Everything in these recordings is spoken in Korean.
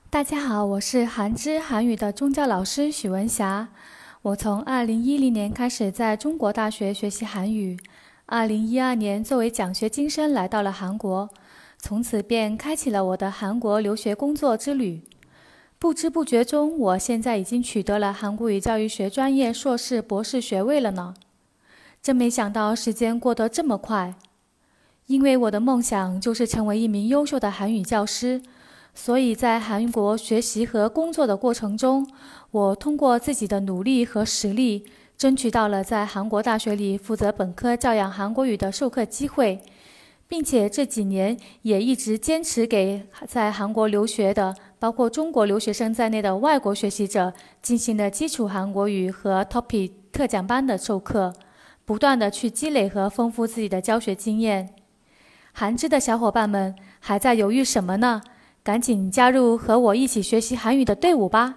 大家好，我是韩知韩语的中教老师许文霞。我从2010年开始在中国大学学习韩语，2012年作为奖学金生来到了韩国，从此便开启了我的韩国留学工作之旅。不知不觉中，我现在已经取得了韩国语教育学专业硕士、博士学位了呢。真没想到时间过得这么快。因为我的梦想就是成为一名优秀的韩语教师，所以在韩国学习和工作的过程中，我通过自己的努力和实力，争取到了在韩国大学里负责本科教养韩国语的授课机会，并且这几年也一直坚持给在韩国留学的，包括中国留学生在内的外国学习者进行了基础韩国语和 TOPIK 特讲班的授课，不断的去积累和丰富自己的教学经验。韩知的小伙伴们还在犹豫什么呢？赶紧加入和我一起学习韩语的队伍吧！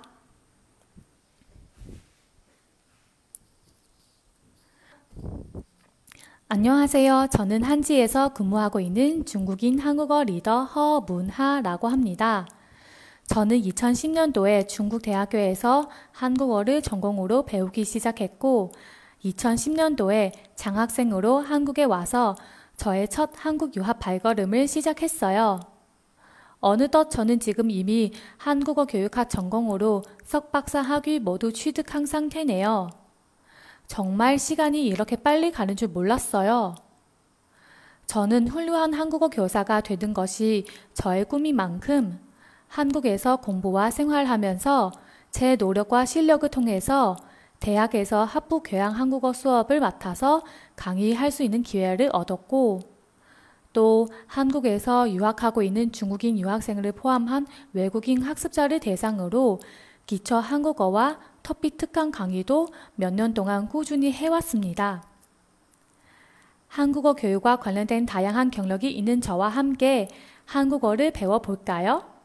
안녕하세요. 저는 한지에서 근무하고 있는 중국인 한국어 리더 허문하라고 합니다. 저는 2010년도에 중국 대학교에서 한국어를 전공으로 배우기 시작했고 2010년도에 장학생으로 한국에 와서 저의 첫 한국 유학 발걸음을 시작했어요. 어느덧 저는 지금 이미 한국어 교육학 전공으로 석박사 학위 모두 취득한 상태네요. 정말 시간이 이렇게 빨리 가는 줄 몰랐어요. 저는 훌륭한 한국어 교사가 되는 것이 저의 꿈인 만큼 한국에서 공부와 생활하면서 제 노력과 실력을 통해서 대학에서 학부 교양 한국어 수업을 맡아서 강의할 수 있는 기회를 얻었고 또 한국에서 유학하고 있는 중국인 유학생을 포함한 외국인 학습자를 대상으로 기초 한국어와 토픽 특강 강의도 몇 년 동안 꾸준히 해왔습니다. 한국어 교육과 관련된 다양한 경력이 있는 저와 함께 한국어를 배워볼까요?